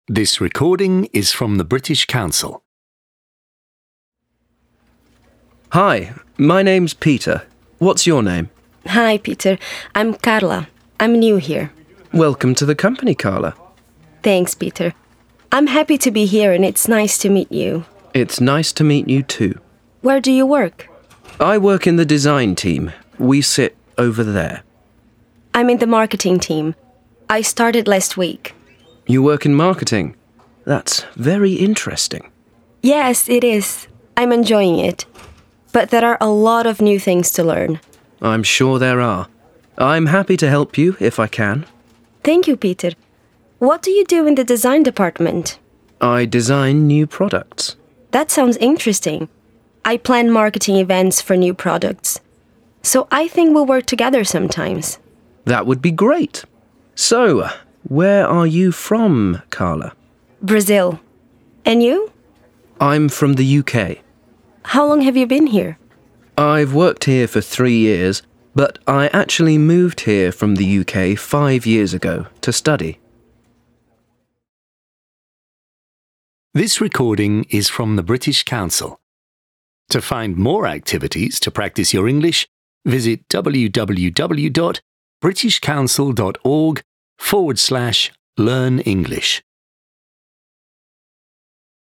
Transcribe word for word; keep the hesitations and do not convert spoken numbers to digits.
This recording is from the British Council. Hi, my name's Peter. What's your name? Hi, Peter. I'm Carla. I'm new here. Welcome to the company, Carla. Thanks, Peter. I'm happy to be here and it's nice to meet you. It's nice to meet you too. Where do you work? I work in the design team. We sit over there. I'm in the marketing team. I started last week. You work in marketing? That's very interesting. Yes, it is. I'm enjoying it. But there are a lot of new things to learn. I'm sure there are. I'm happy to help you if I can. Thank you, Peter. What do you do in the design department? I design new products. That sounds interesting. I plan marketing events for new products. So I think we'll work together sometimes. That would be great. So, where are you from, Carla? Brazil. And you? I'm from the U K. How long have you been here? I've worked here for three years, but I actually moved here from the U K five years ago to study. This recording is from the British Council. To find more activities to practice your English, visit www.britishcouncil.org forward slash learn English.